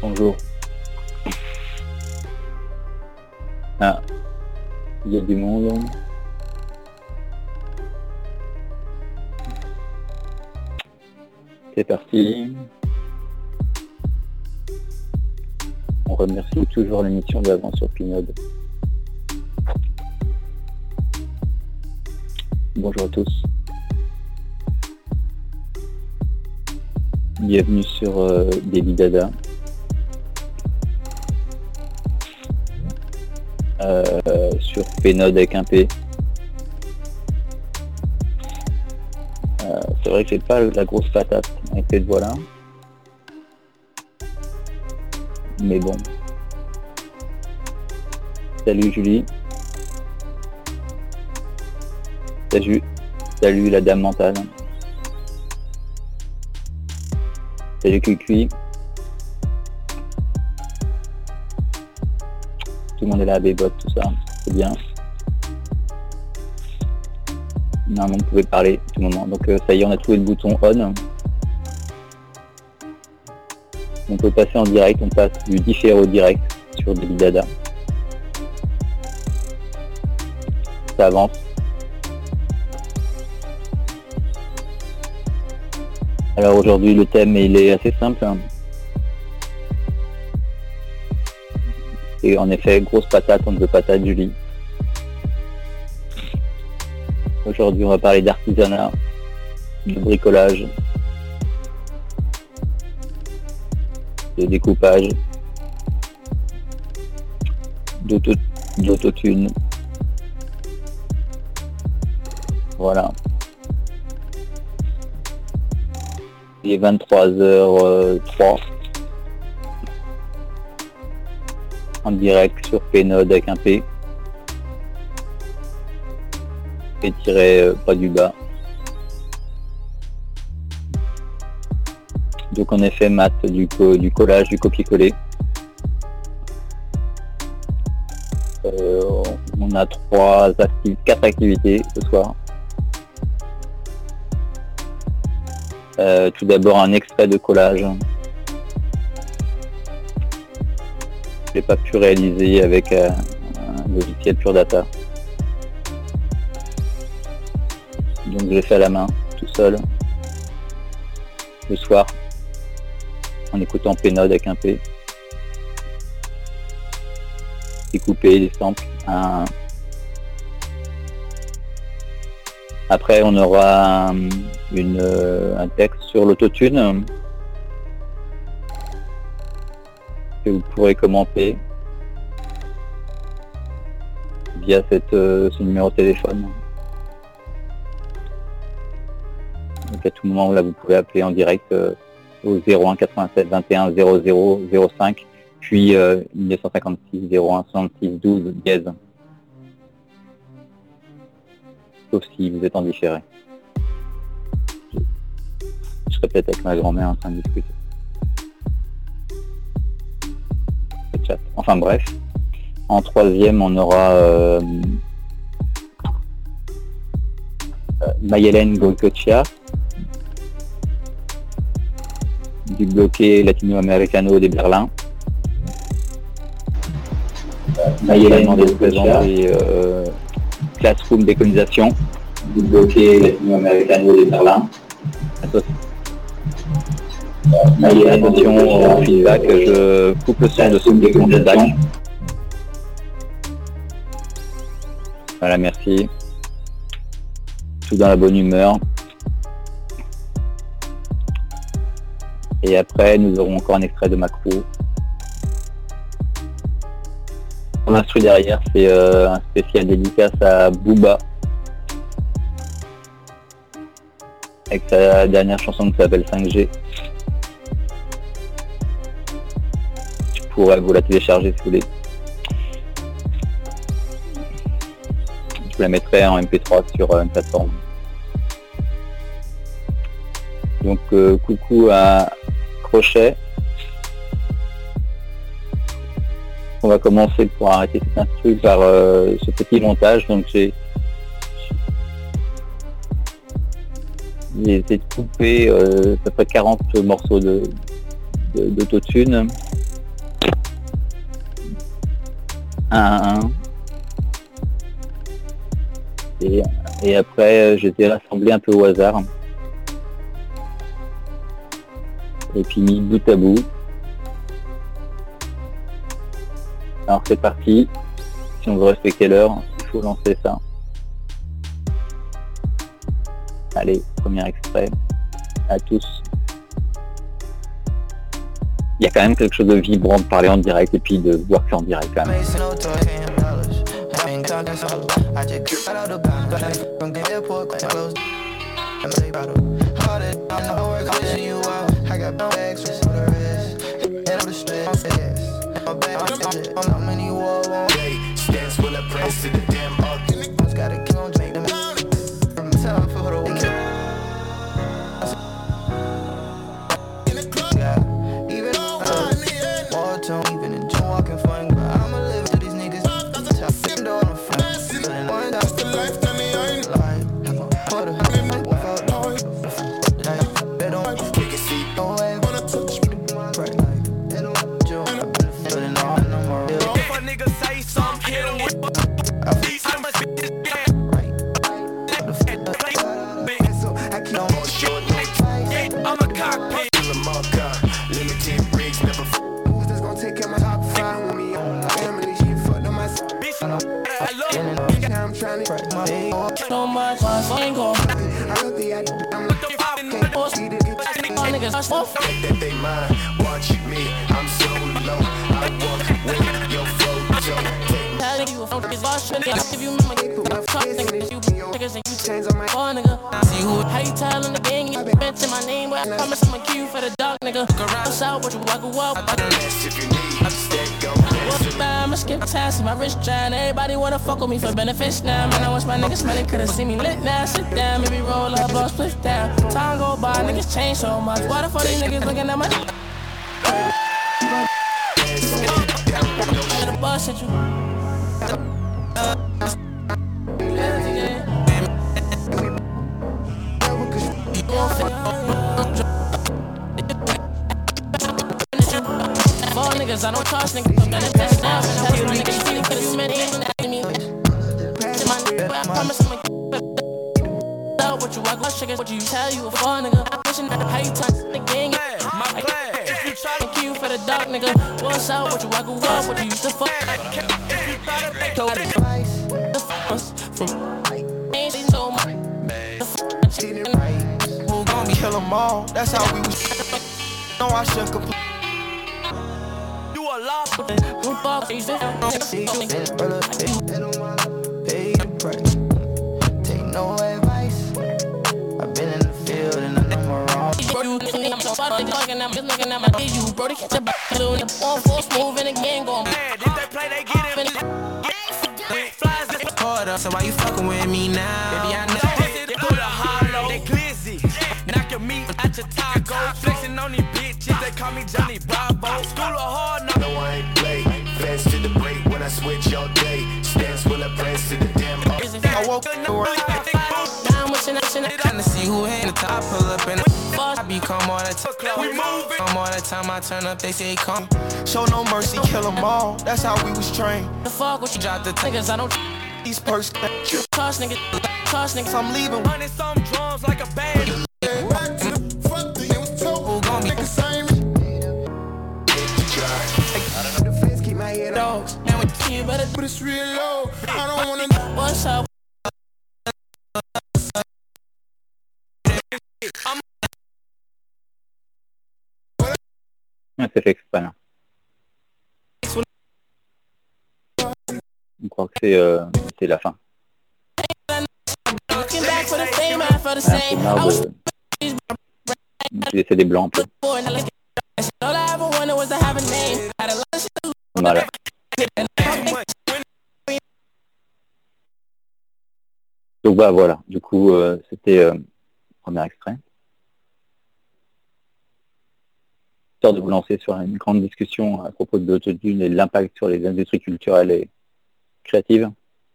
Bonjour. Ah, il y a du monde. C'est parti. On remercie toujours l'émission d'avant sur Pinode. Bonjour à tous. Bienvenue sur Baby Dada. Sur Pinode avec un P. C'est vrai que j'ai pas la grosse patate avec cette voix-là. Mais bon. Salut Julie. Salut la dame mentale. Salut Cuicui. Tout le monde est là, Bébot, tout ça. C'est bien. Non, mais on pouvait parler tout le moment. Donc ça y est, on a trouvé le bouton on. On peut passer en direct, on passe du différé au direct sur Baby Dada. Ça avance. Alors aujourd'hui le thème il est assez simple. Et en effet, grosse patate, on ne veut patate Julie. Aujourd'hui on va parler d'artisanat, de bricolage, de découpage, d'autotune. Voilà. Il est 23h03 en direct sur Pinode avec un P et tiré pas du bas. Donc en effet maths, du collage, du copier-coller. On a 4 activités ce soir. Tout d'abord un extrait de collage. Je n'ai pas pu réaliser avec un logiciel Pure Data. Donc je l'ai fait à la main, tout seul, le soir, en écoutant Pinode avec un P. Découper des samples. Après on aura un texte sur l'autotune que vous pourrez commenter via ce numéro de téléphone. Donc à tout moment là vous pouvez appeler en direct au 01 87 21 00 05 puis 1956 01 66 12 dièse. Sauf si vous êtes en différé. Je serai peut-être avec ma grand-mère en train de discuter. Le chat. Enfin bref. En troisième, on aura Mayelen Goicoechea du bloqué latino-américano de Berlin. Mayelen en présent et Classroom décolonisation du bloqué latino-américano de Berlin. Attention au feedback, je coupe le son de ce feedback. Voilà, merci. Tout dans la bonne humeur. Et après, nous aurons encore un extrait de Macro. L'instru derrière, c'est un spécial dédicace à Booba. Avec sa dernière chanson qui s'appelle 5G. Je pourrais vous la télécharger si vous voulez. Je vous la mettrai en MP3 sur une plateforme. Donc coucou à Crochet. On va commencer pour arrêter cet instru par ce petit montage. Donc j'ai essayé de couper à peu près 40 morceaux d'autotune 1, 1. Et après, je les ai rassemblés un peu au hasard. Et puis mis bout à bout. Alors c'est parti. Si on veut respecter l'heure, il faut lancer ça. Allez, premier extrait. À tous. Il y a quand même quelque chose de vibrant de parler en direct et puis de voir que c'est en direct quand même. My wrist trying, everybody wanna fuck with me for benefits now. Man, I watch my niggas smelling, could've seen me lit now. Sit down, maybe roll up, blow split down. Time go by, niggas change so much. Why the fuck these niggas looking at my the bus at you. Niggas, I don't trust niggas, man, it's best now. Tell you niggas, you could've seen me, me. I promise I'm a what you walk, what chickens, what you tell you a fun nigga. I'm pushing that how you touch the gang. If you try to kill for the dog, nigga, what's up, what you walk, what you used to fuck. From ain't so much. Who gon' be kill 'em all? That's how we was. No, I shouldn't complain. Take no advice. I've been in the field and I know my wrong. I'm just looking at my you, bro. They catch a back. On full smooth and again going. If they play, they get it. Hold up, so why you fucking with me now? Baby, I know. They go to hollow. They glizzy. Knock your meat at your taco. Flexing on these bitches. They call me Johnny Bravo. School of hard knocks. No, I ain't play. Fast to the break when I switch all day. Stance will I press to the damn. I woke up down wishing I trying to see who ain't the top. Pull up in the I be calm all the time. We moving. Calm all the time I turn up, they say come. Show no mercy, kill 'em all. That's how we was trained. The fuck what you drop the niggas, I don't these perks. Toss niggas, I'm leaving. Running some drums like a band. Back to the front, it was told. Who gon' be the same? The fence keep my head on. And we keep better, but it's real low. I don't wanna know what's up. C'est fait exprès là. On croit que c'est la fin. C'est marre de laisser des blancs un peu. Voilà. Donc bah voilà, du coup c'était le premier extrait. De vous lancer sur une grande discussion à propos de l'autotune et de l'impact sur les industries culturelles et créatives.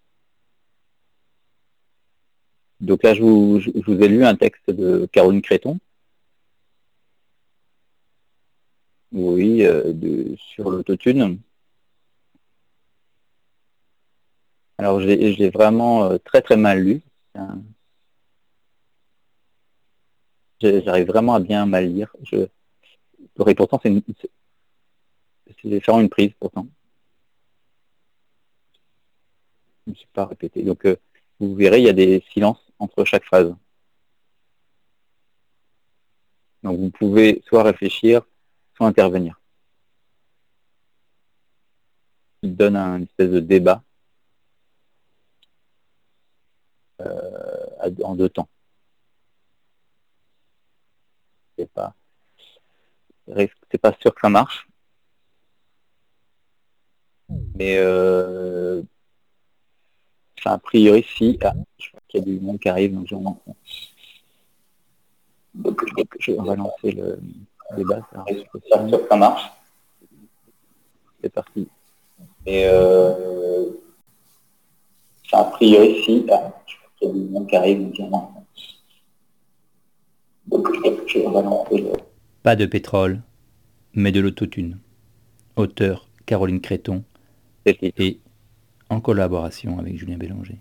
Donc là, je vous ai lu un texte de Caroline Créton. Oui, sur l'autotune. Alors je l'ai vraiment très très mal lu. J'arrive vraiment à bien mal lire. Et pourtant c'est faire une prise pourtant. Je ne me suis pas répété. Donc vous verrez, il y a des silences entre chaque phrase. Donc vous pouvez soit réfléchir, soit intervenir. Il donne un espèce de débat en deux temps. C'est pas sûr que ça marche, mais a priori si. Je vois qu'il y a du monde qui arrive, donc je vais relancer le débat. Ça risque de pas sûr que ça marche. C'est parti. Et a priori si. Je vois qu'il y a du monde qui arrive, donc je vais relancer le. Pas de pétrole, mais de l'autotune. Auteur Caroline Créton et en collaboration avec Julien Bélanger.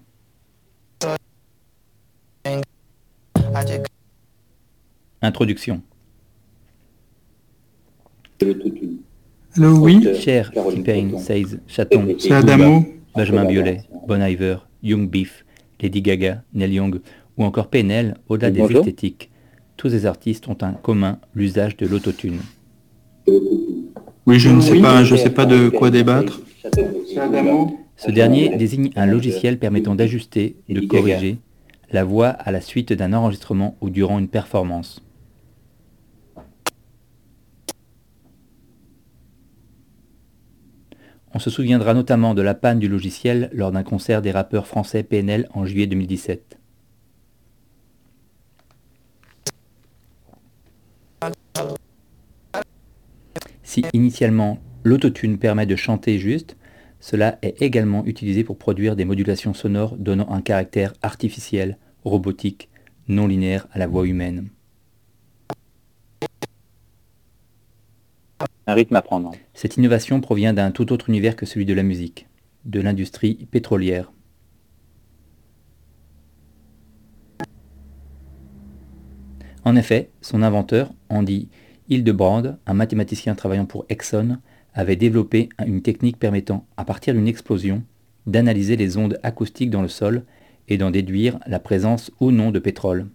Introduction. Allô, oui. Cher T-Pain, Says, Chaton, C'est Adamo. Benjamin Biolay, Bon Iver, Young Beef, Lady Gaga, Neil Young ou encore PNL, au-delà des esthétiques, tous ces artistes ont en commun l'usage de l'autotune. Oui, je ne sais pas de quoi débattre. C'est Adamo. Ce dernier désigne un logiciel permettant d'ajuster, de corriger la voix à la suite d'un enregistrement ou durant une performance. On se souviendra notamment de la panne du logiciel lors d'un concert des rappeurs français PNL en juillet 2017. Si initialement l'autotune permet de chanter juste, cela est également utilisé pour produire des modulations sonores donnant un caractère artificiel, robotique, non linéaire à la voix humaine. Un rythme à prendre. Cette innovation provient d'un tout autre univers que celui de la musique, de l'industrie pétrolière. En effet, son inventeur, Andy Hildebrand, un mathématicien travaillant pour Exxon, avait développé une technique permettant, à partir d'une explosion, d'analyser les ondes acoustiques dans le sol et d'en déduire la présence ou non de pétrole.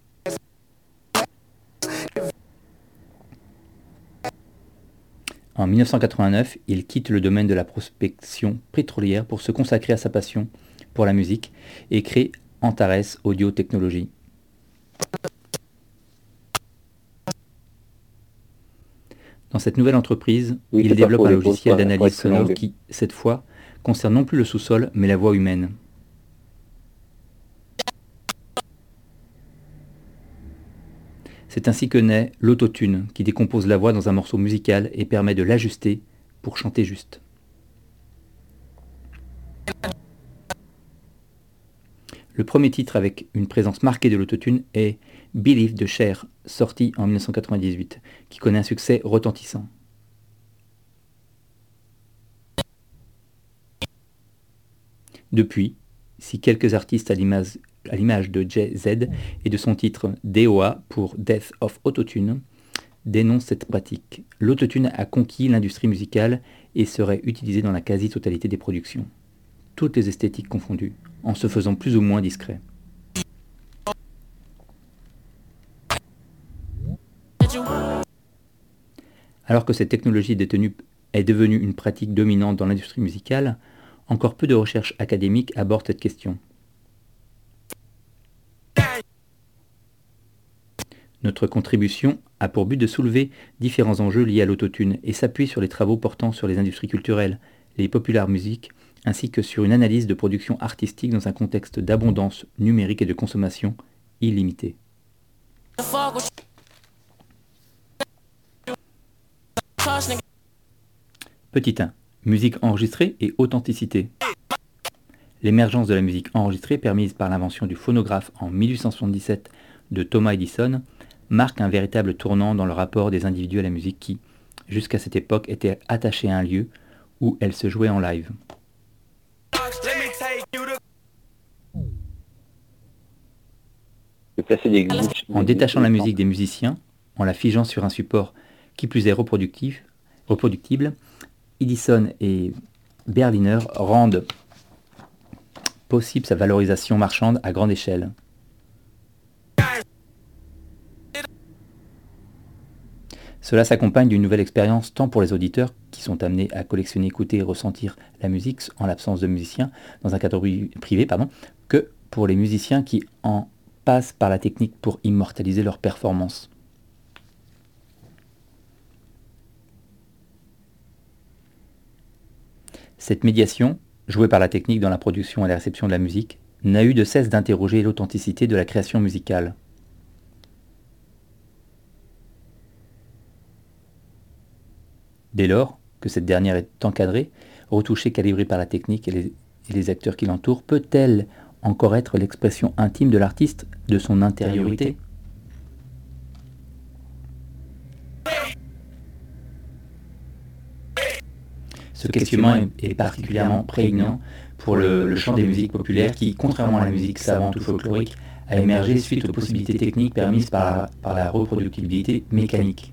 En 1989, il quitte le domaine de la prospection pétrolière pour se consacrer à sa passion pour la musique et crée Antares Audio Technology. Dans cette nouvelle entreprise, il développe un logiciel d'analyse sonore qui, cette fois, concerne non plus le sous-sol, mais la voix humaine. C'est ainsi que naît l'autotune, qui décompose la voix dans un morceau musical et permet de l'ajuster pour chanter juste. Le premier titre avec une présence marquée de l'autotune est Believe de Cher, sorti en 1998, qui connaît un succès retentissant. Depuis, si quelques artistes à l'image de Jay-Z et de son titre DOA pour Death of Autotune dénoncent cette pratique, l'autotune a conquis l'industrie musicale et serait utilisé dans la quasi-totalité des productions, toutes les esthétiques confondues, en se faisant plus ou moins discret. Alors que cette technologie est devenue une pratique dominante dans l'industrie musicale, encore peu de recherches académiques abordent cette question. Notre contribution a pour but de soulever différents enjeux liés à l'autotune et s'appuie sur les travaux portant sur les industries culturelles, les populaires musiques, ainsi que sur une analyse de production artistique dans un contexte d'abondance numérique et de consommation illimitée. Petit 1. Musique enregistrée et authenticité. L'émergence de la musique enregistrée, permise par l'invention du phonographe en 1877 de Thomas Edison, marque un véritable tournant dans le rapport des individus à la musique qui, jusqu'à cette époque, était attaché à un lieu où elle se jouait en live. de placer des glitches. En détachant la musique des musiciens, en la figeant sur un support qui plus est reproductible, Edison et Berliner rendent possible sa valorisation marchande à grande échelle. Cela s'accompagne d'une nouvelle expérience tant pour les auditeurs qui sont amenés à collectionner, écouter et ressentir la musique en l'absence de musiciens dans un cadre privé, que pour les musiciens qui en passent par la technique pour immortaliser leur performance. Cette médiation, jouée par la technique dans la production et la réception de la musique, n'a eu de cesse d'interroger l'authenticité de la création musicale. Dès lors que cette dernière est encadrée, retouchée, calibrée par la technique et les acteurs qui l'entourent, peut-elle encore être l'expression intime de l'artiste, de son intériorité ? Ce questionnement est particulièrement prégnant pour le champ des musiques populaires qui, contrairement à la musique savante ou folklorique, a émergé suite aux possibilités techniques permises par la reproductibilité mécanique.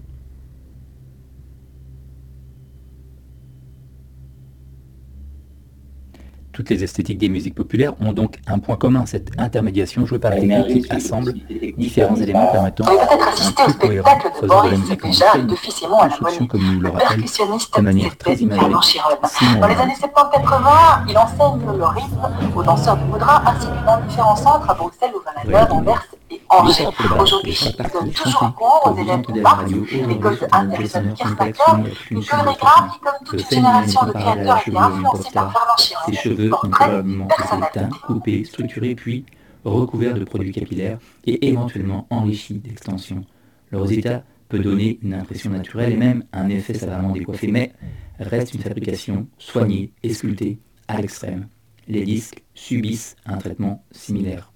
Toutes les esthétiques des musiques populaires ont donc un point commun, cette intermédiation jouée par la technique qui assemble différents éléments permettant un plus cohérent, faisant de la musique en construction, comme nous le rappelle de manière très imagée Simon. Dans les années 70-80, il enseigne le rythme aux danseurs de Moudra ainsi que dans différents centres à Bruxelles, Louvain-la-Neuve, Anvers et Angers. Aujourd'hui, il donne toujours cours aux élèves de Marx, l'école de Anderson Kirchmacher, une chorégraphe qui, comme toute une génération de créateurs, était influencée par Fernand Ses Chiron. cheveux ont probablement été teints, coupés, structurés, puis recouverts de produits capillaires et éventuellement enrichis d'extensions. Le résultat peut donner une impression naturelle et même un effet savamment décoiffé, mais reste une fabrication soignée et sculptée à l'extrême. Les disques subissent un traitement similaire.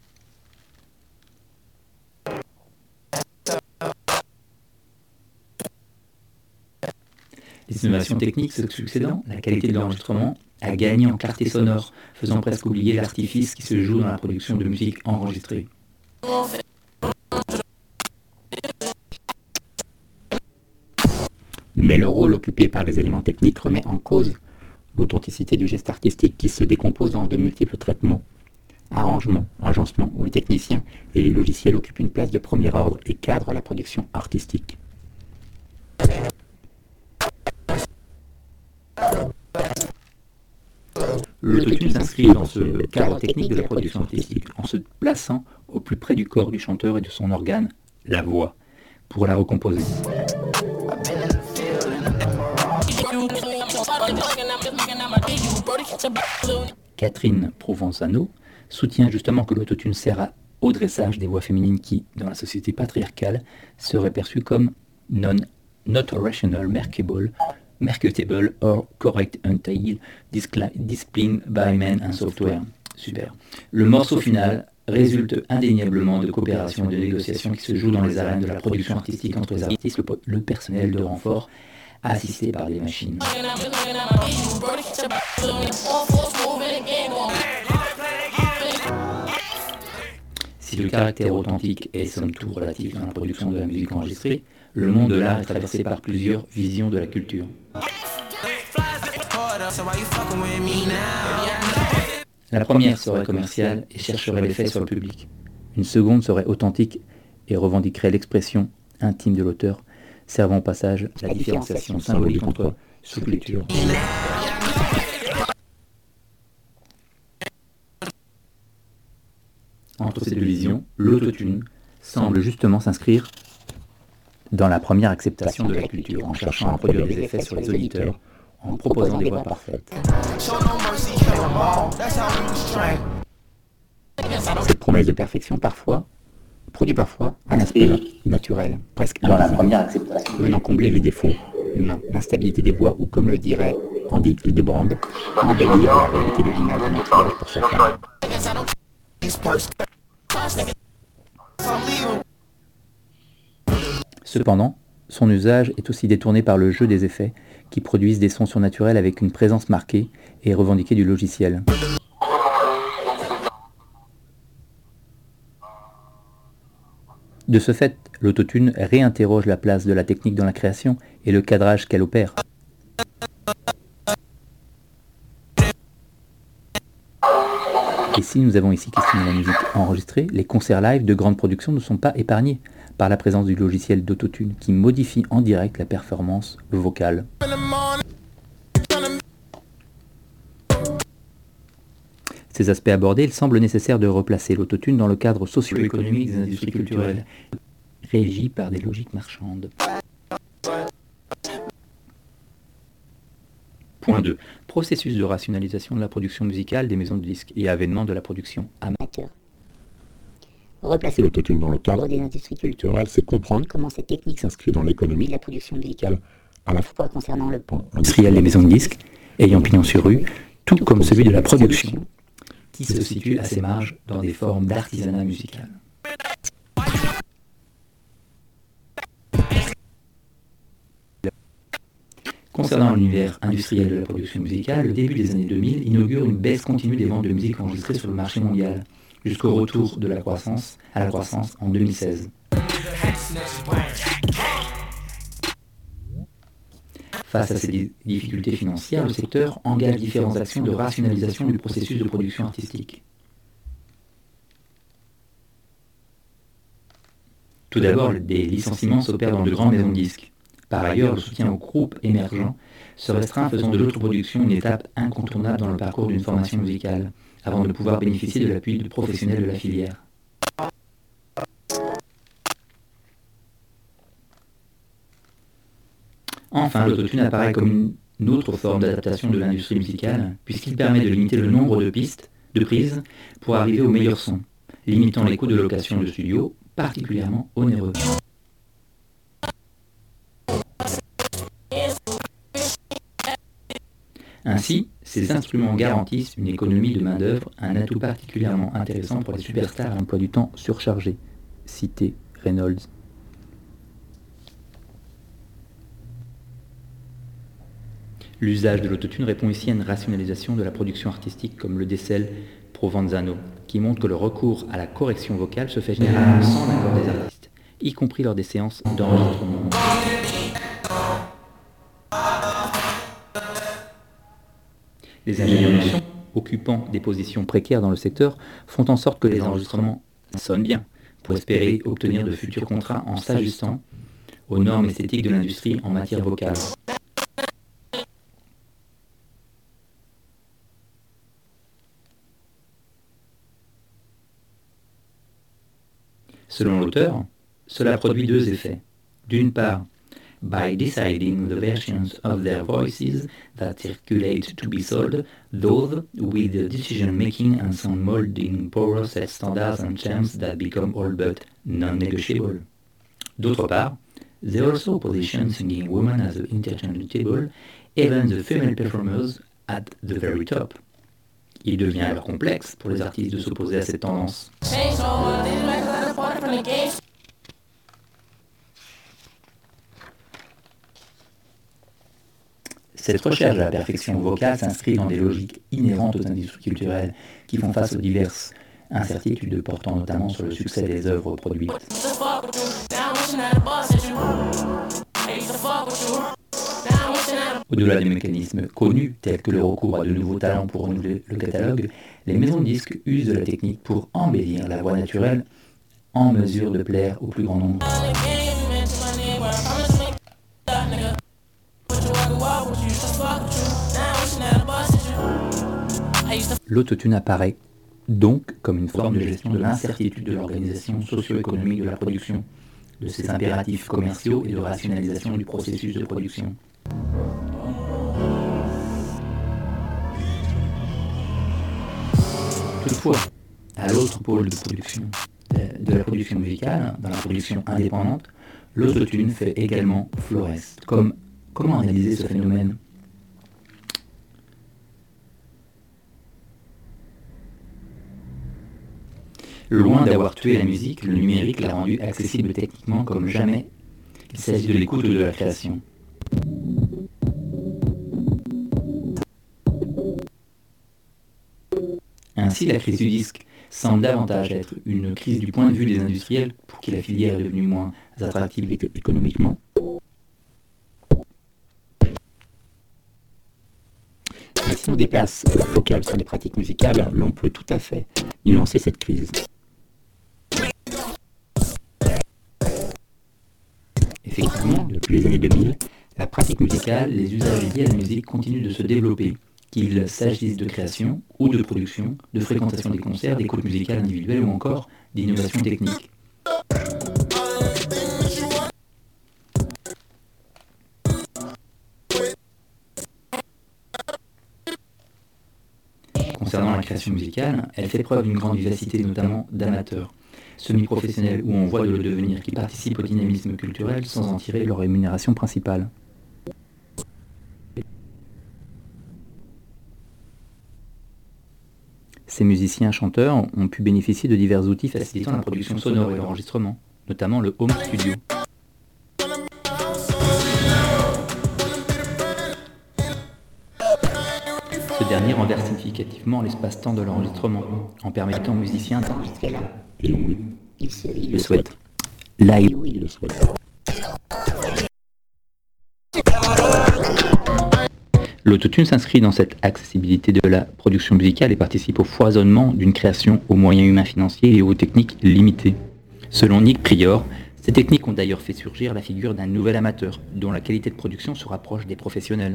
Les innovations techniques se succédant, la qualité de l'enregistrement a gagné en clarté sonore, faisant presque oublier l'artifice qui se joue dans la production de musique enregistrée. Mais le rôle occupé par les éléments techniques remet en cause l'authenticité du geste artistique qui se décompose en de multiples traitements, arrangements, agencements où les techniciens et les logiciels occupent une place de premier ordre et cadrent la production artistique. L'autotune s'inscrit dans ce cadre technique de la production artistique en se plaçant au plus près du corps du chanteur et de son organe, la voix, pour la recomposer. Catherine Provenzano soutient justement que l'autotune sert au dressage des voix féminines qui, dans la société patriarcale, seraient perçues comme not rational, marketable or correct until displayed by men and software. Super. Le morceau final résulte indéniablement de coopération et de négociations qui se jouent dans les arènes de la production artistique entre les artistes, le personnel de renfort, assisté par des machines. Si le caractère authentique est somme toute relatif dans la production de la musique enregistrée, le monde de l'art est traversé par plusieurs visions de la culture. La première serait commerciale et chercherait l'effet sur le public. Une seconde serait authentique et revendiquerait l'expression intime de l'auteur, servant au passage la différenciation symbolique entre sous-culture. Entre ces deux visions, l'autotune semble justement s'inscrire dans la première acceptation de la culture, en cherchant à produire des effets sur les auditeurs, en proposant des voix parfaites. Cette promesse de perfection produit parfois un aspect naturel, presque dans la première acceptation, venant combler les défauts humains, l'instabilité des voix, ou comme le dirait Andy Hildebrand, embellir la réalité de l'image d'un maquillage pour certains. Cependant, son usage est aussi détourné par le jeu des effets qui produisent des sons surnaturels avec une présence marquée et revendiquée du logiciel. De ce fait, l'autotune réinterroge la place de la technique dans la création et le cadrage qu'elle opère. Et si nous avons ici questionné la musique enregistrée, les concerts live de grande production ne sont pas épargnés par la présence du logiciel d'autotune qui modifie en direct la performance vocale. Ces aspects abordés, il semble nécessaire de replacer l'autotune dans le cadre socio-économique des industries culturelles, régies par des logiques marchandes. Point 2. Processus de rationalisation de la production musicale des maisons de disques et avènement de la production amateur. Replacer l'autotune dans le cadre des industries culturelles, c'est comprendre comment cette technique s'inscrit dans l'économie de la production musicale, à la fois concernant le pan industriel des maisons de disques, ayant pignon sur rue, tout comme celui de la production, qui se situe à ses marges dans des formes d'artisanat musical. Concernant l'univers industriel de la production musicale, le début des années 2000 inaugure une baisse continue des ventes de musique enregistrées sur le marché mondial, jusqu'au retour à la croissance en 2016. Face à ces difficultés financières, le secteur engage différentes actions de rationalisation du processus de production artistique. Tout d'abord, des licenciements s'opèrent dans de grandes maisons de disques. Par ailleurs, le soutien aux groupes émergents se restreint, faisant de l'autoproduction une étape incontournable dans le parcours d'une formation musicale, avant de pouvoir bénéficier de l'appui de professionnels de la filière. Enfin, l'autotune apparaît comme une autre forme d'adaptation de l'industrie musicale, puisqu'il permet de limiter le nombre de pistes, de prises, pour arriver au meilleur son, limitant les coûts de location de studio, particulièrement onéreux. Ainsi, ces instruments garantissent une économie de main-d'œuvre, un atout particulièrement intéressant pour les superstars à emploi du temps surchargé. Cité Reynolds. L'usage de l'autotune répond ici à une rationalisation de la production artistique comme le décèle Provenzano, qui montre que le recours à la correction vocale se fait généralement sans l'accord des artistes, y compris lors des séances d'enregistrement. Les ingénieurs de son, occupant des positions précaires dans le secteur, font en sorte que les enregistrements sonnent bien, pour espérer obtenir de futurs contrats en s'ajustant aux normes esthétiques de l'industrie en matière vocale. Selon l'auteur, cela produit deux effets. D'une part, by deciding the versions of their voices that circulate to be sold, those with the decision-making and sound molding power set standards and terms that become all but non-negotiable. D'autre part, they also position singing women as interchangeable, even the female performers at the very top. Il devient alors complexe pour les artistes de s'opposer à cette tendance. Cette recherche de la perfection vocale s'inscrit dans des logiques inhérentes aux industries culturelles qui font face aux diverses incertitudes portant notamment sur le succès des œuvres produites. Au-delà des mécanismes connus, tels que le recours à de nouveaux talents pour renouveler le catalogue, les maisons de disques usent de la technique pour embellir la voix naturelle en mesure de plaire au plus grand nombre. L'autotune apparaît donc comme une forme de gestion de l'incertitude de l'organisation socio-économique de la production, de ses impératifs commerciaux et de rationalisation du processus de production. Toutefois, à l'autre pôle de production, de la production musicale, dans la production indépendante, l'autotune fait également florès. Comment analyser ce phénomène ? Loin d'avoir tué la musique, le numérique l'a rendue accessible techniquement comme jamais. Il s'agit de l'écoute ou de la création. Ainsi, la crise du disque semble davantage être une crise du point de vue des industriels pour qui la filière est devenue moins attractive économiquement. Mais si on déplace la focale sur les pratiques musicales, l'on peut tout à fait nuancer cette crise. Effectivement, Depuis les années 2000, la pratique musicale, les usages liés à la musique continuent de se développer, qu'il s'agisse de création ou de production, de fréquentation des concerts, d'écoute musicale individuelle ou encore d'innovation technique. Concernant la création musicale, elle fait preuve d'une grande vivacité, notamment d'amateurs, semi-professionnels ou en voie de le devenir, qui participent au dynamisme culturel sans en tirer leur rémunération principale. Ces musiciens-chanteurs ont pu bénéficier de divers outils facilitant la production sonore et l'enregistrement, notamment le home studio. Ce dernier renverse significativement l'espace-temps de l'enregistrement, en permettant aux musiciens d'enregistrer là. et oui, il le souhaite. Là, et oui, il le souhaite. L'autotune s'inscrit dans cette accessibilité de la production musicale et participe au foisonnement d'une création aux moyens humains financiers et aux techniques limitées. Selon Nick Prior, ces techniques ont d'ailleurs fait surgir la figure d'un nouvel amateur, dont la qualité de production se rapproche des professionnels.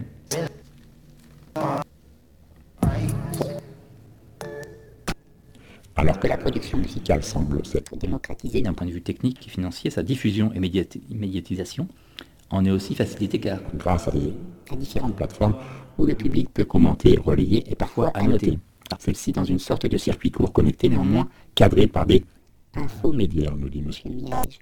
Alors que la production musicale semble s'être démocratisée D'un point de vue technique et financier, sa diffusion et médiatisation en est aussi facilitée car grâce à différentes plateformes où le public peut commenter, relayer et parfois annoter. Celle-ci dans une sorte de circuit court connecté néanmoins cadré par des infomédiaires, nous dit Monsieur Mirage.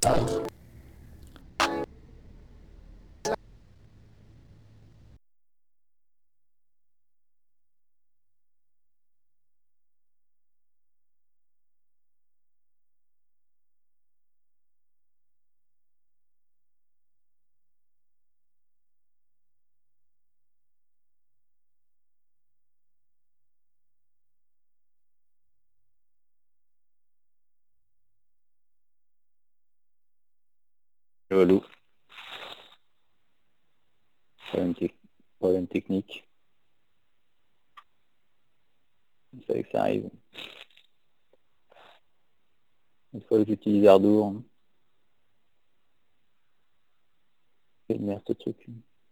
Relou. Problème technique. Vous savez que ça arrive. Une fois que j'utilise Ardour, c'est une merde ce truc.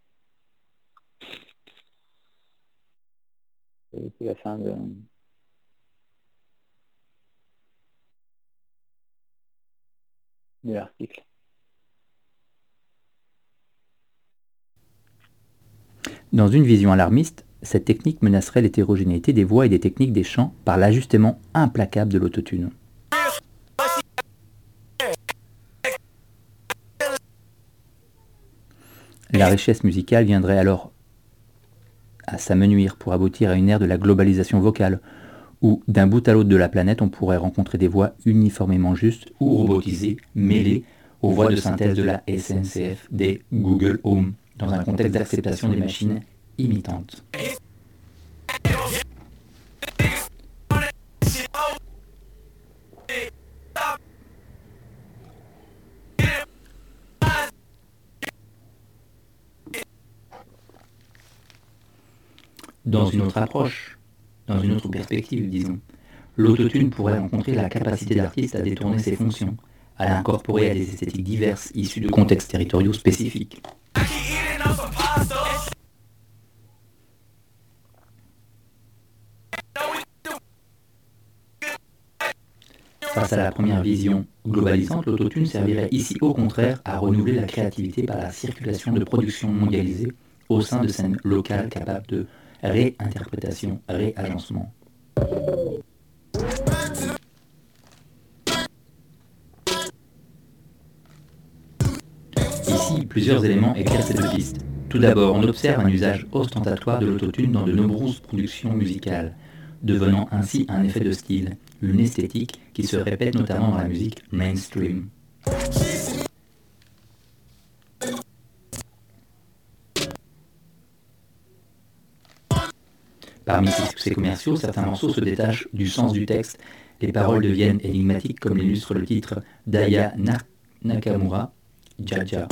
C'est la fin de l'article. Dans une vision alarmiste, cette technique menacerait l'hétérogénéité des voix et des techniques des chants par l'ajustement implacable de l'autotune. La richesse musicale viendrait alors à s'amenuire pour aboutir à une ère de la globalisation vocale, où d'un bout à l'autre de la planète on pourrait rencontrer des voix uniformément justes ou robotisées, mêlées aux voix de synthèse de la SNCF, des Google Home, dans un contexte d'acceptation des machines imitantes. Dans une autre approche, dans une autre perspective, disons, l'autotune pourrait rencontrer la capacité de l'artiste à détourner ses fonctions, à l'incorporer à des esthétiques diverses issues de contextes territoriaux spécifiques. Face à la première vision globalisante, l'autotune servirait ici au contraire à renouveler la créativité par la circulation de productions mondialisées au sein de scènes locales capables de réinterprétation, réagencement. Ici, plusieurs éléments éclairent ces deux pistes. Tout d'abord, on observe un usage ostentatoire de l'autotune dans de nombreuses productions musicales, devenant ainsi un effet de style, une esthétique qui se répète notamment dans la musique mainstream. Parmi ses succès commerciaux, certains morceaux se détachent du sens du texte. Les paroles deviennent énigmatiques, comme l'illustre le titre d'Aya Nakamura, Jaja.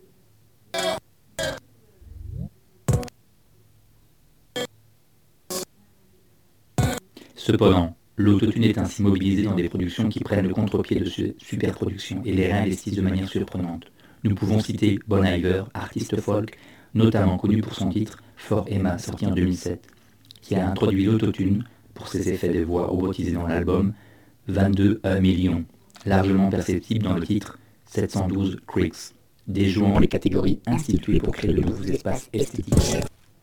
Cependant, l'autotune est ainsi mobilisé dans des productions qui prennent le contre-pied de superproduction et les réinvestissent de manière surprenante. Nous pouvons citer Bon Iver, artiste folk, notamment connu pour son titre For Emma, sorti en 2007, qui a introduit l'autotune pour ses effets de voix robotisés dans l'album 22 millions, largement perceptible dans le titre 712 Creeks, déjouant les catégories instituées pour créer de nouveaux espaces esthétiques.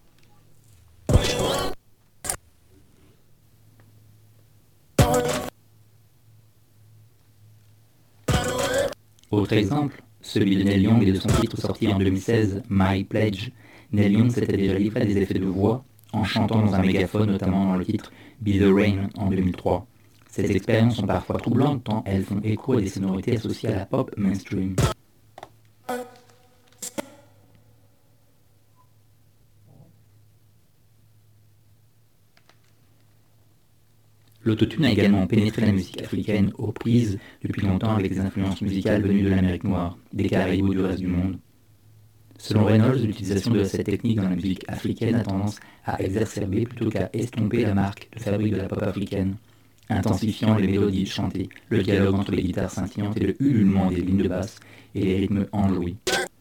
Autre exemple, celui de Neil Young et de son titre sorti en 2016, My Pledge. Neil Young s'était déjà livré à des effets de voix en chantant dans un mégaphone, notamment dans le titre Be the Rain en 2003. Ces expériences sont parfois troublantes tant elles font écho à des sonorités associées à la pop mainstream. L'autotune a également pénétré la musique africaine aux prises depuis longtemps avec des influences musicales venues de l'Amérique noire, des Caraïbes ou du reste du monde. Selon Reynolds, l'utilisation de cette technique dans la musique africaine a tendance à exacerber plutôt qu'à estomper la marque de fabrique de la pop africaine, intensifiant les mélodies chantées, le dialogue entre les guitares scintillantes et le ululement des lignes de basse et les rythmes enjouis.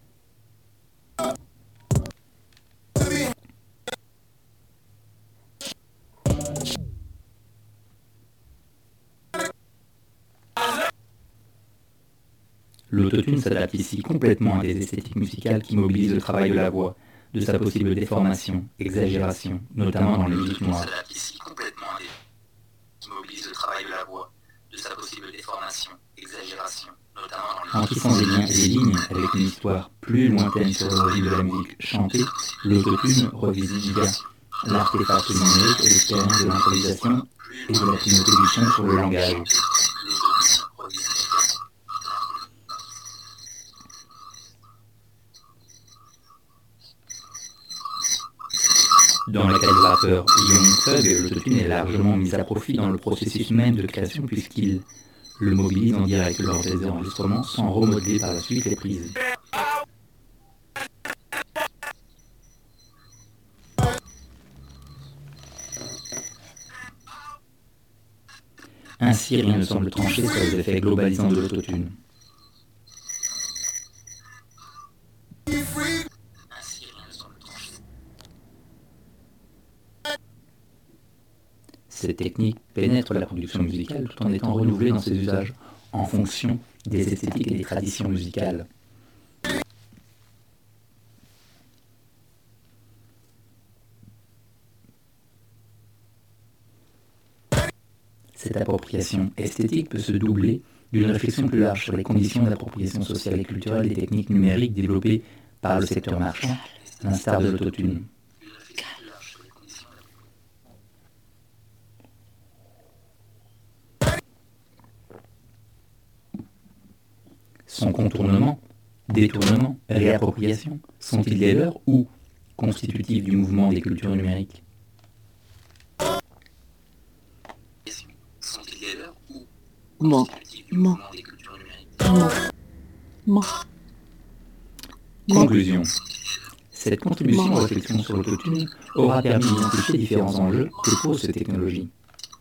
L'autotune s'adapte ici complètement à des esthétiques musicales qui mobilisent le travail de la voix, de sa possible déformation, exagération, notamment dans les musiques noires. En tissant des liens et des lignes avec une histoire plus lointaine sur l'origine de la musique chantée, l'autotune revisite bien l'artefact numérique et l'expérience de l'improvisation et de la primauté du son sur le langage. Dans le cas du rappeur Young Thug, l'autotune est largement mis à profit dans le processus même de création puisqu'il le mobilise en direct lors des enregistrements sans remodeler par la suite les prises. Ainsi, rien ne semble trancher sur les effets globalisants de l'autotune. Cette technique pénètre la production musicale tout en étant renouvelée dans ses usages, en fonction des esthétiques et des traditions musicales. Cette appropriation esthétique peut se doubler d'une réflexion plus large sur les conditions d'appropriation sociale et culturelle des techniques numériques développées par le secteur marchand, à l'instar de l'autotune. Son contournement, détournement, réappropriation, sont-ils des leurs ou constitutifs du mouvement des cultures numériques ? Conclusion. Cette contribution aux réflexions sur l'autotune aura permis d'identifier différents enjeux que pose cette technologie.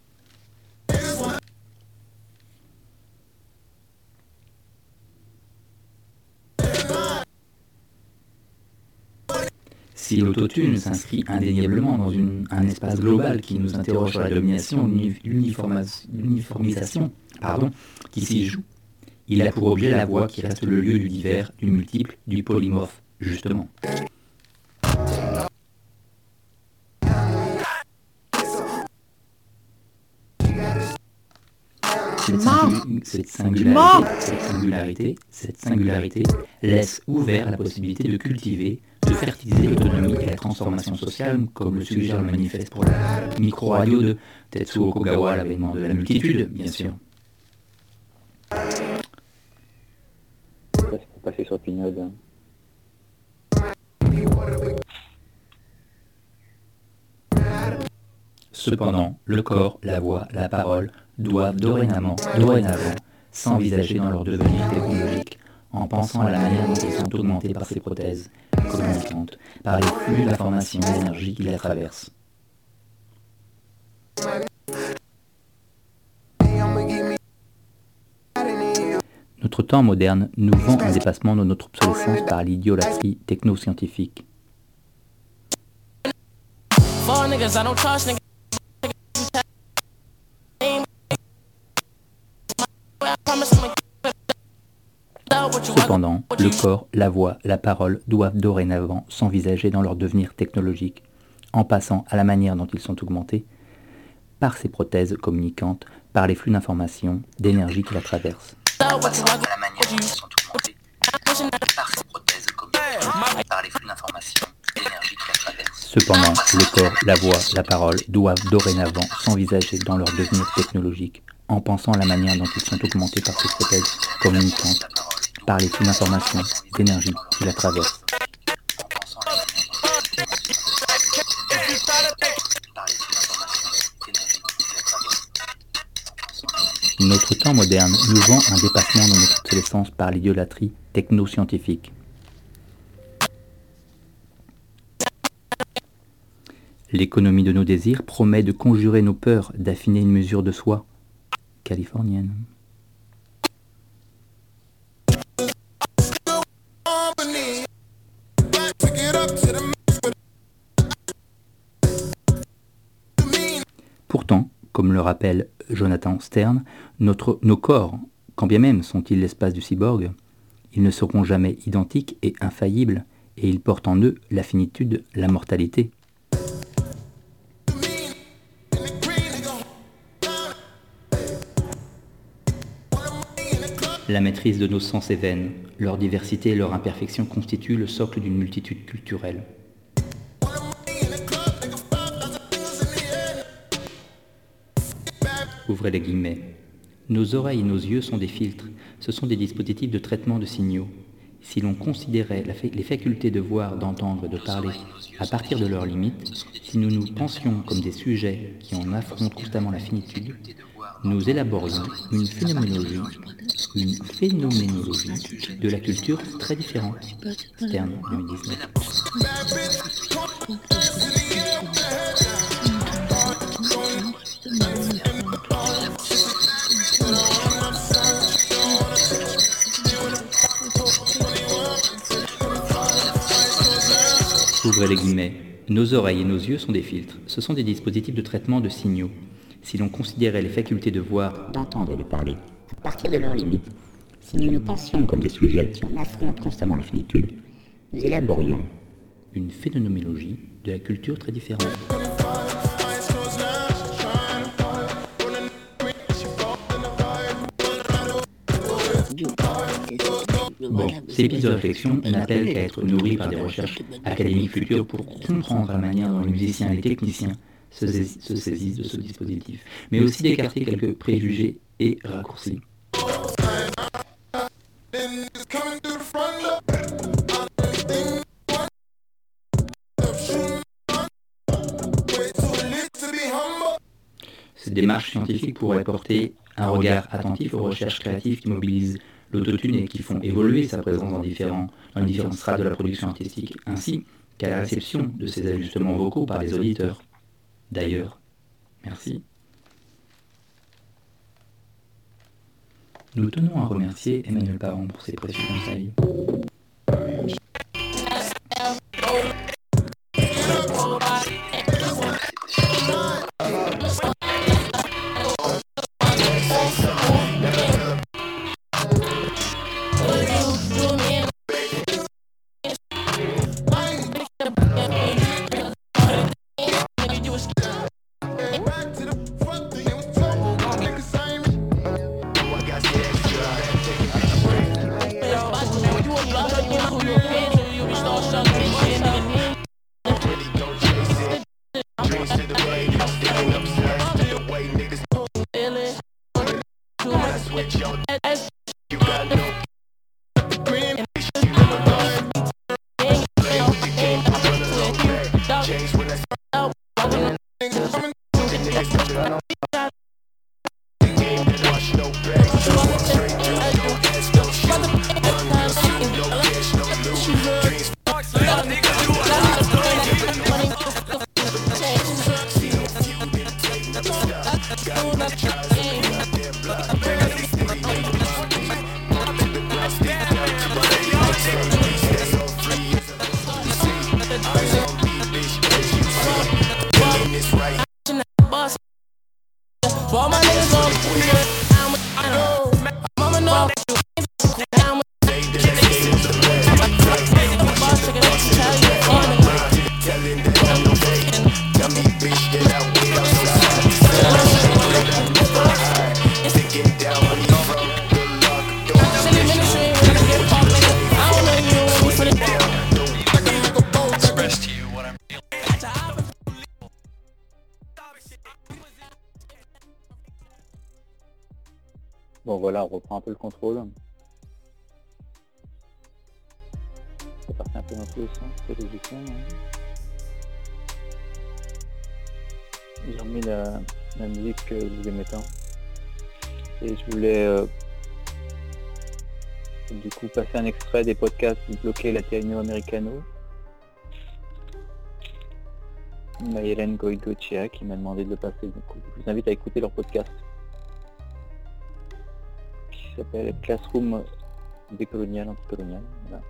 Si l'autotune s'inscrit indéniablement dans un espace global qui nous interroge sur la domination, l'uniformisation qui s'y joue, il a pour objet la voix qui reste le lieu du divers, du multiple, du polymorphe, justement. Cette singularité laisse ouvert la possibilité de cultiver, de fertiliser l'autonomie et la transformation sociale, comme le suggère le manifeste pour la micro-radio de Tetsuo Kogawa, l'avènement de la multitude, bien sûr. Ça, c'est pour passer sur Pinode. Cependant, le corps, la voix, la parole doivent dorénavant s'envisager dans leur devenir technologique, en pensant à la manière dont ils sont augmentés par ces prothèses communicantes, par les flux d'informations et d'énergie qui la traversent. Notre temps moderne nous vend un dépassement de notre obsolescence par l'idolâtrie technoscientifique. Cependant, le corps, la voix, la parole doivent dorénavant s'envisager dans leur devenir technologique, en passant à la manière dont ils sont augmentés par ces prothèses communicantes, par les flux d'informations, d'énergie qui la traversent. Cependant, le corps, la voix, la parole doivent dorénavant s'envisager dans leur devenir technologique, en pensant à la manière dont ils sont augmentés par ces prothèses communicantes, par les flux d'informations, d'énergie qui la traversent. Notre temps moderne nous vend un dépassement de notre obsolescence par l'idolâtrie technoscientifique. L'économie de nos désirs promet de conjurer nos peurs, d'affiner une mesure de soi californienne. Pourtant, comme le rappelle Jonathan Stern, nos corps, quand bien même sont-ils l'espace du cyborg, ils ne seront jamais identiques et infaillibles, et ils portent en eux la finitude, la mortalité. La maîtrise de nos sens est vaine, leur diversité et leur imperfection constituent le socle d'une multitude culturelle. Ouvrez les guillemets. Nos oreilles et nos yeux sont des filtres, ce sont des dispositifs de traitement de signaux. Si l'on considérait les facultés de voir, d'entendre et de parler à partir de leurs limites, si nous nous pensions comme des sujets qui en affrontent constamment la finitude, nous élaborions une phénoménologie de la culture très différente. Stern, 2019. Ouvrez les guillemets. Nos oreilles et nos yeux sont des filtres. Ce sont des dispositifs de traitement de signaux. Si l'on considérait les facultés de voir, d'entendre et de parler à partir de leurs limites, si nous nous pensions comme des sujets qui en affrontent constamment la finitude, nous élaborions une phénoménologie de la culture très différente. Bon, ces pistes de réflexion n'appellent qu'à être nourries par des recherches académiques futures pour comprendre la manière dont les musiciens et les techniciens se saisissent de ce dispositif, mais aussi d'écarter quelques préjugés et raccourcis. Cette démarche scientifique pourrait porter un regard attentif aux recherches créatives qui mobilisent l'autotune et qui font évoluer sa présence dans les différentes strates de la production artistique, ainsi qu'à la réception de ces ajustements vocaux par les auditeurs. D'ailleurs, merci. Nous tenons à remercier Emmanuel Parent pour ses précieux conseils. For my niggas on mama know that you down with boss chicken, tell you telling that I'm no fake. Tell me bitch that I wait on your side. To get down on your road. Good luck. Silly ministry, when I get popped, nigga. I don't know you when we put it down. Express to you what I'm feeling. Bon voilà, on reprend un peu le contrôle. C'est parti un peu dans tous les sens, c'est logiquement. J'ai remis la musique que vous aimez tant. Et je voulais du coup passer un extrait des podcasts Bloquer Latino Americano. Mayelen Goigochea qui m'a demandé de le passer, donc je vous invite à écouter leur podcast qui s'appelle Classroom décolonial, anticolonial. Voilà.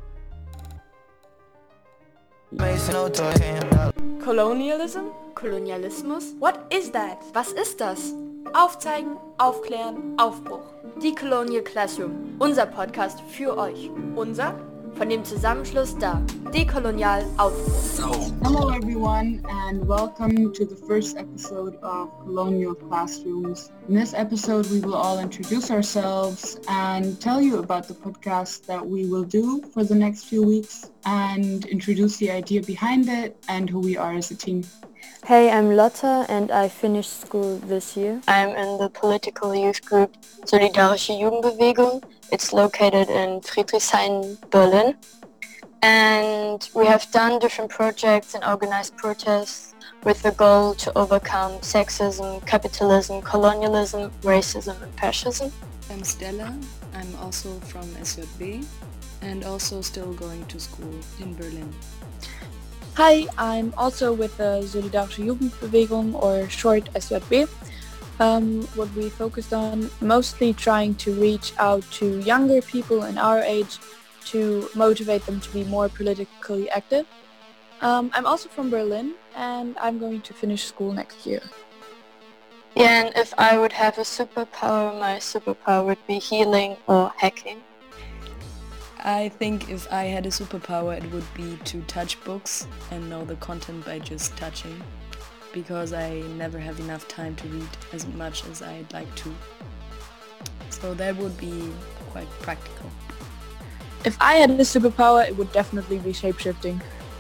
Colonialism? Kolonialismus? What is that? Was ist das? Aufzeigen, aufklären, Aufbruch. Decolonial Classroom, unser Podcast für euch. Unser? Von dem Zusammenschluss da. Dekolonial Aufbruch. Hello everyone and welcome to the first episode of Colonial Classrooms. In this episode we will all introduce ourselves and tell you about the podcast that we will do for the next few weeks and introduce the idea behind it and who we are as a team. Hey, I'm Lotta and I finished school this year. I'm in the political youth group Solidarische Jugendbewegung. It's located in Friedrichshain, Berlin. And we have done different projects and organized protests with the goal to overcome sexism, capitalism, colonialism, racism and fascism. I'm Stella. I'm also from SJB and also still going to school in Berlin. Hi, I'm also with the Solidarische Jugendbewegung, or short SJB. What we focused on, mostly trying to reach out to younger people in our age to motivate them to be more politically active. I'm also from Berlin and I'm going to finish school next year. Yeah, and if I would have a superpower, my superpower would be healing or hacking. I think if I had a superpower it would be to touch books and know the content by just touching, because I never have enough time to read as much as I'd like to. So that would be quite practical. If I had a superpower it would definitely be shapeshifting.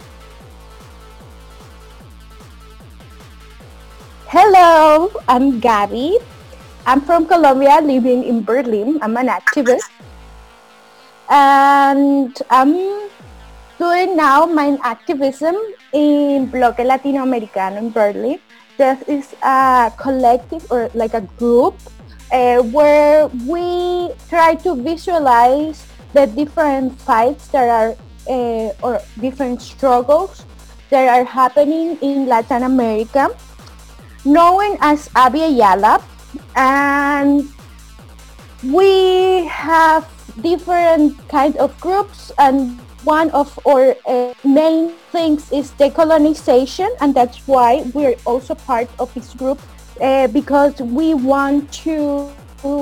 Hello, I'm Gabby. I'm from Colombia, living in Berlin. I'm an activist. And I'm doing now my activism in Bloque Latinoamericano in Berlin. This is a collective or like a group where we try to visualize the different fights that are or different struggles that are happening in Latin America, known as Abby Ayala. And we have different kind of groups, and one of our main things is decolonization, and that's why we're also part of this group because we want to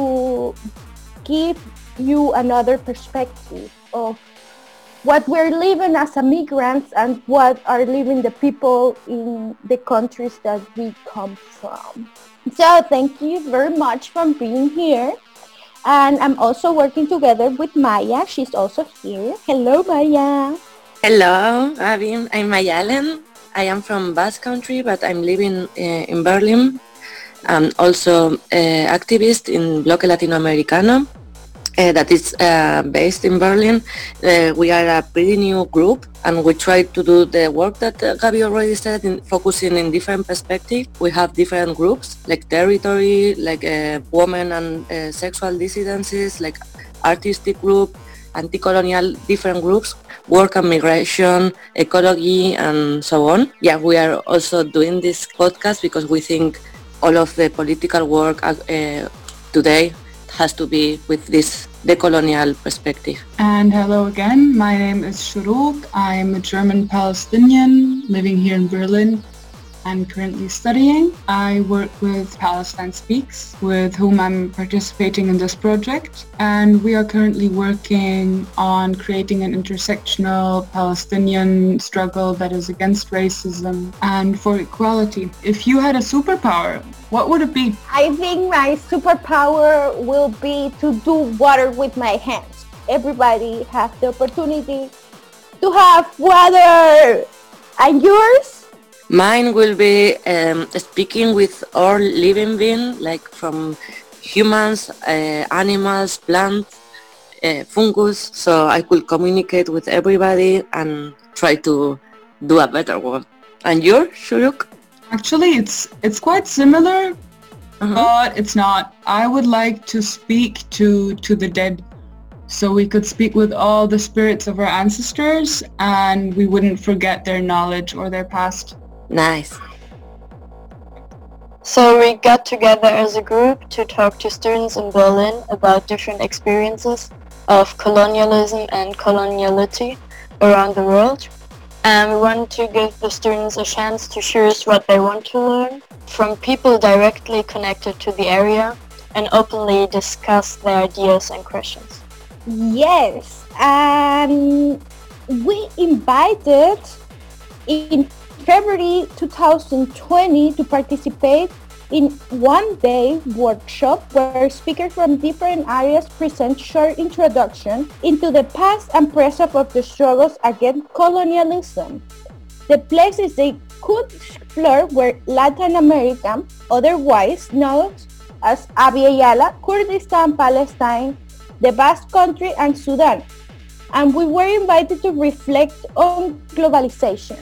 give you another perspective of what we're living as immigrants and what are living the people in the countries that we come from. So thank you very much for being here. And I'm also working together with Maya. She's also here. Hello, Maya. Hello, I'm Mayalen. I am from Basque Country, but I'm living in Berlin. I'm also activist in Bloque Latinoamericano that is based in Berlin. We are a pretty new group and we try to do the work that Gabi already said, in focusing in different perspectives. We have different groups like territory, like women and sexual dissidencies, like artistic group, anti-colonial different groups, work and migration, ecology and so on. Yeah, we are also doing this podcast because we think all of the political work today has to be with this decolonial perspective. And hello again, my name is Shuruk. I'm a German Palestinian living here in Berlin and currently studying. I work with Palestine Speaks, with whom I'm participating in this project, and we are currently working on creating an intersectional Palestinian struggle that is against racism and for equality. If you had a superpower, what would it be? I think my superpower will be to do water with my hands. Everybody has the opportunity to have water. And yours? Mine will be speaking with all living beings, like from humans, animals, plants, fungus, so I could communicate with everybody and try to do a better world. And yours, Shuruk? Actually, it's quite similar, but it's not. I would like to speak to the dead, so we could speak with all the spirits of our ancestors and we wouldn't forget their knowledge or their past. Nice. So we got together as a group to talk to students in Berlin about different experiences of colonialism and coloniality around the world. And we want to give the students a chance to choose what they want to learn from people directly connected to the area and openly discuss their ideas and questions. Yes, and we invited in February 2020 to participate in one-day workshop where speakers from different areas present short introduction into the past and present of the struggles against colonialism. The places they could explore were Latin America, otherwise known as Abya Yala, Kurdistan, Palestine, the Basque Country, and Sudan. And we were invited to reflect on globalization.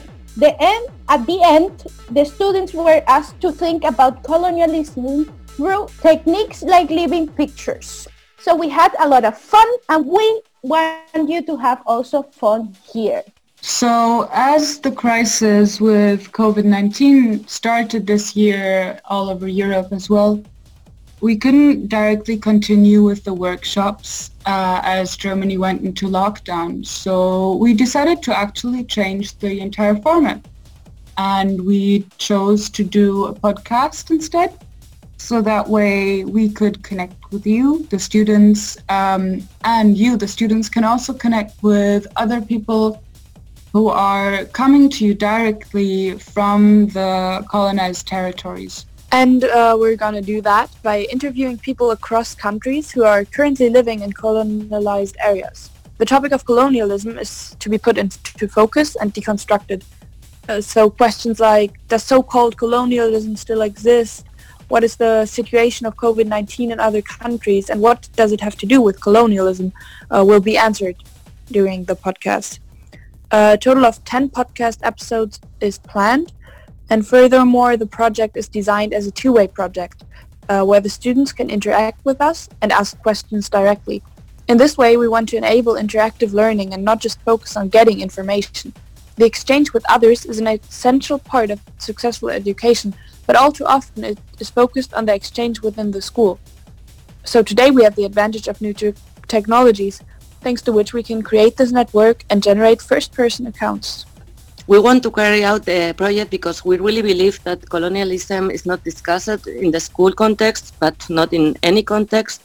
At the end, the students were asked to think about colonialism through techniques like living pictures. So we had a lot of fun, and we want you to have also fun here. So as the crisis with COVID-19 started this year all over Europe as well, we couldn't directly continue with the workshops as Germany went into lockdown. So we decided to actually change the entire format. And we chose to do a podcast instead. So that way we could connect with you, the students, and you, the students, can also connect with other people who are coming to you directly from the colonized territories. And we're going to do that by interviewing people across countries who are currently living in colonialized areas. The topic of colonialism is to be put into focus and deconstructed. So questions like, does so-called colonialism still exist? What is the situation of COVID-19 in other countries? And what does it have to do with colonialism will be answered during the podcast. A total of 10 podcast episodes is planned. And furthermore, the project is designed as a two-way project where the students can interact with us and ask questions directly. In this way, we want to enable interactive learning and not just focus on getting information. The exchange with others is an essential part of successful education, but all too often it is focused on the exchange within the school. So today we have the advantage of new technologies, thanks to which we can create this network and generate first-person accounts. We want to carry out the project because we really believe that colonialism is not discussed in the school context, but not in any context.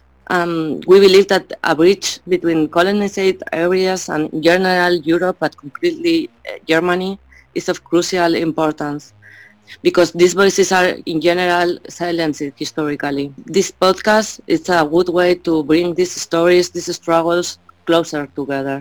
We believe that a bridge between colonized areas and in general Europe, but completely Germany, is of crucial importance because these voices are in general silenced historically. This podcast is a good way to bring these stories, these struggles closer together.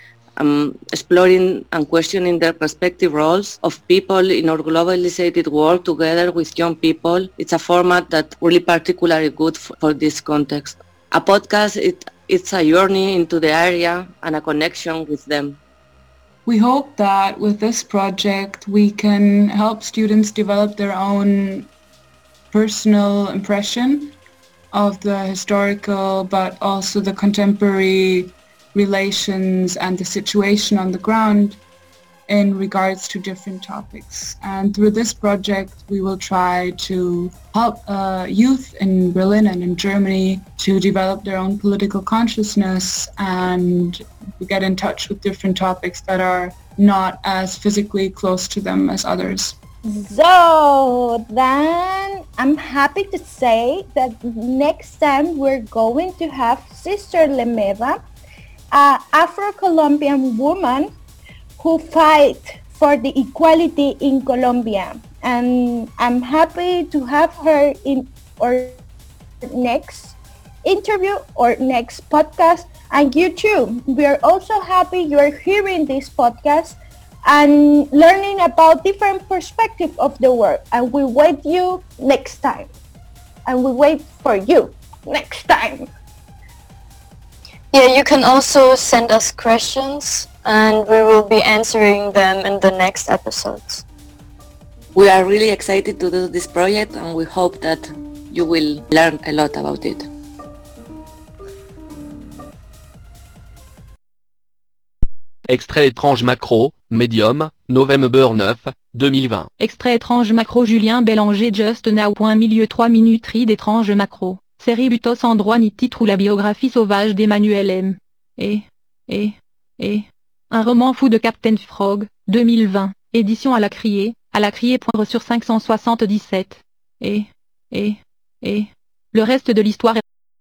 Exploring and questioning their respective roles of people in our globalized world together with young people. It's a format that's really particularly good for this context. A podcast, it's a journey into the area and a connection with them. We hope that with this project we can help students develop their own personal impression of the historical but also the contemporary relations and the situation on the ground, in regards to different topics. And through this project, we will try to help youth in Berlin and in Germany to develop their own political consciousness and get in touch with different topics that are not as physically close to them as others. So then I'm happy to say that next time we're going to have Sister Lemeva, an Afro-Colombian woman who fight for the equality in Colombia. And I'm happy to have her in our next interview or next podcast. And you too, we are also happy you're hearing this podcast and learning about different perspectives of the world. And we wait you next time. And we wait for you next time. Yeah, you can also send us questions and we will be answering them in the next episodes. We are really excited to do this project and we hope that you will learn a lot about it. Extrait étrange macro, Medium, November 9, 2020. Extrait étrange macro Julien Bélanger Just Now. Milieu 3 minutes read étrange macro. Série Butos sans droit ni titre ou la biographie sauvage d'Emmanuel M. Un roman fou de Captain Frog, 2020. Édition à la criée sur 577. Le reste de l'histoire est...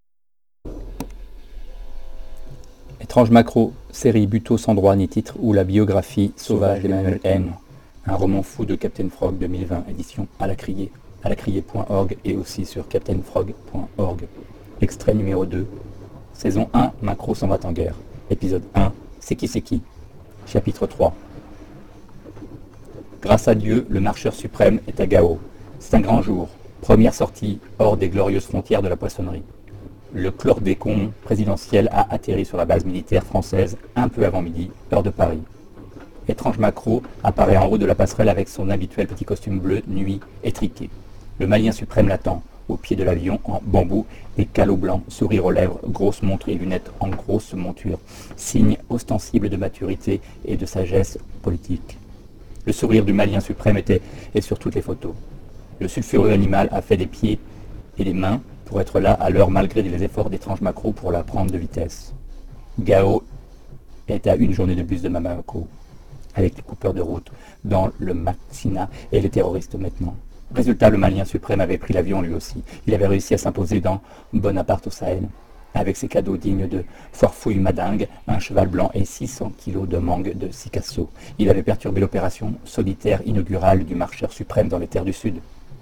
Étrange macro, série Buto sans droit ni titre ou la biographie sauvage d'Emmanuel M. Un roman fou de Captain Frog 2020, édition à la criée.org et aussi sur captainfrog.org. Extrait numéro 2, saison 1, Macro s'en va en guerre. Épisode 1, C'est qui ? Chapitre 3. Grâce à Dieu, le marcheur suprême est à Gao. C'est un grand jour. Première sortie hors des glorieuses frontières de la poissonnerie. Le chlordécone présidentiel a atterri sur la base militaire française un peu avant midi, heure de Paris. Étrange macro apparaît en haut de la passerelle avec son habituel petit costume bleu, nuit, étriqué. Le Malien suprême l'attend, au pied de l'avion en bambou et calot blanc, sourire aux lèvres, grosse montre et lunettes en grosse monture, signe ostensible de maturité et de sagesse politique. Le sourire du Malien suprême est sur toutes les photos. Le sulfureux animal a fait des pieds et des mains pour être là à l'heure malgré les efforts d'étrange macro pour la prendre de vitesse. Gao est à une journée de bus de Bamako, avec les coupeurs de route dans le Maxina et les terroristes maintenant. Résultat, le Malien suprême avait pris l'avion lui aussi. Il avait réussi à s'imposer dans Bonaparte au Sahel, avec ses cadeaux dignes de Forfouille Madingue, un cheval blanc et 600 kilos de mangue de Sikasso. Il avait perturbé l'opération solitaire inaugurale du marcheur suprême dans les terres du Sud.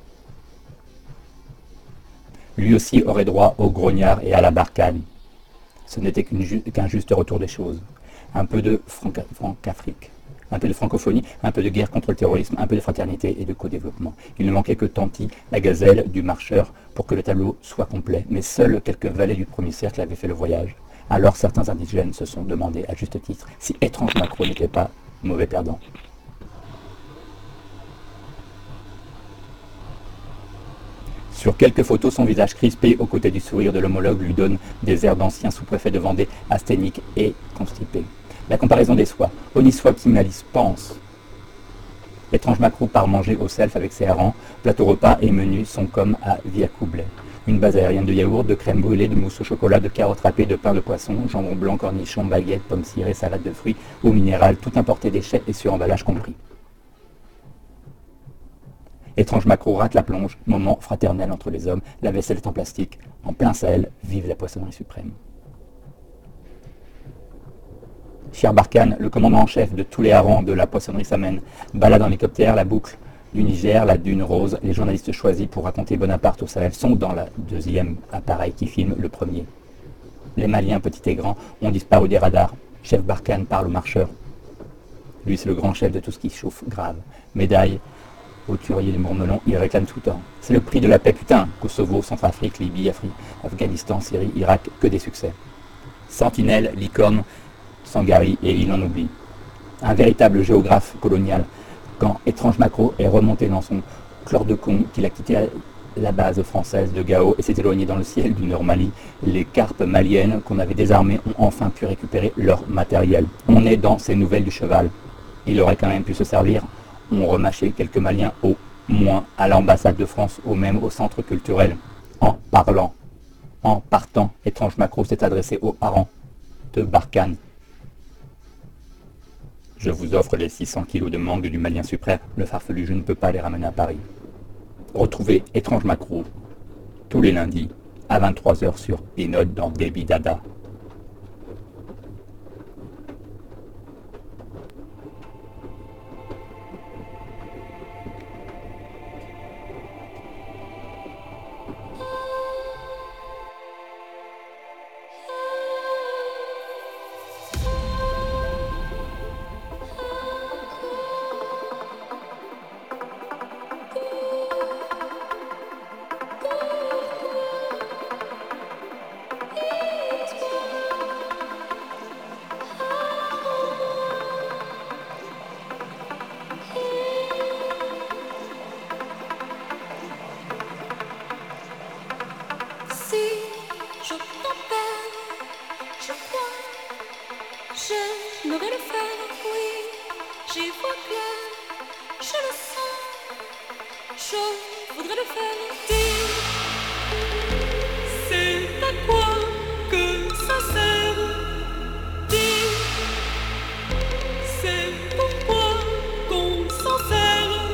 Lui aussi aurait droit au grognard et à la Barkhane. Ce n'était qu'un juste retour des choses. Un peu de Franc-Afrique, un peu de francophonie, un peu de guerre contre le terrorisme, un peu de fraternité et de co-développement. Il ne manquait que Tanti, la gazelle du marcheur, pour que le tableau soit complet. Mais seuls quelques valets du premier cercle avaient fait le voyage. Alors certains indigènes se sont demandé, à juste titre, si étrange macro n'était pas mauvais perdant. Sur quelques photos, son visage crispé aux côtés du sourire de l'homologue lui donne des airs d'ancien sous-préfet de Vendée, asthénique et constipé. La comparaison des soies. Onissois qui malice pense. L'étrange macro part manger au self avec ses harengs. Plateau repas et menus sont comme à Via Coublet. Une base aérienne de yaourt, de crème brûlée, de mousse au chocolat, de carottes râpées, de pain de poisson, jambon blanc, cornichons, baguettes, pommes cirées, salade de fruits, eau minérale, tout importé déchets et sur emballage compris. Étrange macro rate la plonge, moment fraternel entre les hommes, la vaisselle est en plastique, en plein Sahel, vive la poissonnerie suprême. Cher Barkhane, le commandant en chef de tous les harengs de la poissonnerie s'amène, balade en hélicoptère, la boucle du Niger, la dune rose, les journalistes choisis pour raconter Bonaparte au Sahel sont dans la deuxième appareil qui filme le premier. Les Maliens, petits et grands, ont disparu des radars. Chef Barkhane parle aux marcheurs. Lui, c'est le grand chef de tout ce qui chauffe grave. Médaille au tuerier des Mourmelons, il réclame tout le temps. C'est le prix de la paix, putain. Kosovo, Centrafrique, Libye, Afghanistan, Syrie, Irak, que des succès. Sentinelle, licorne, Sangari, et il en oublie. Un véritable géographe colonial. Quand étrange macro est remonté dans son chlordécone qu'il a quitté la base française de Gao et s'est éloigné dans le ciel du Nord-Mali, les carpes maliennes qu'on avait désarmées ont enfin pu récupérer leur matériel. On est dans ces nouvelles du cheval. Il aurait quand même pu se servir. On remâchait quelques Maliens au moins à l'ambassade de France ou même au centre culturel. En parlant, en partant, Étrange Macro s'est adressé aux parents de Barkhane. Je vous offre les 600 kilos de mangue du Malien suprême. Le farfelu, je ne peux pas les ramener à Paris. Retrouvez Étrange Macro tous les lundis à 23h sur Pinot dans Baby Dada. J'aimerais le faire, oui, j'y vois clair, je le sens, je voudrais le faire. Dis, c'est à quoi que ça sert? Dis, c'est pourquoi qu'on s'en sert?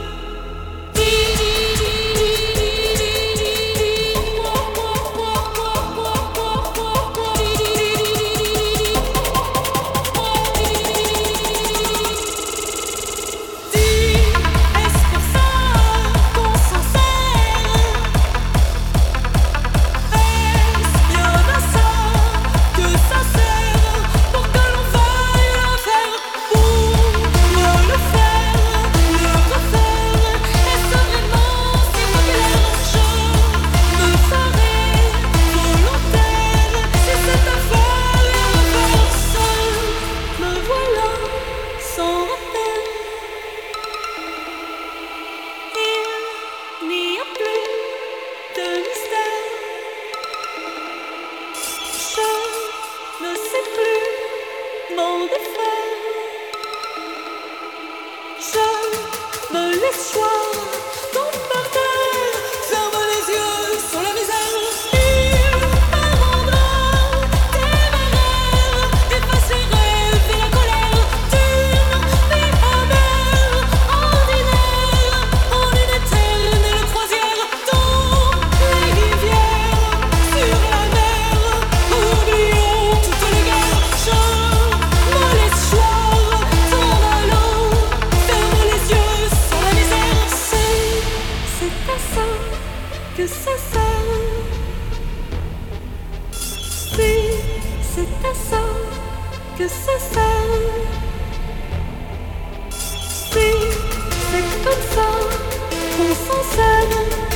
Que ça sert. Si c'est comme ça qu'on s'en sert.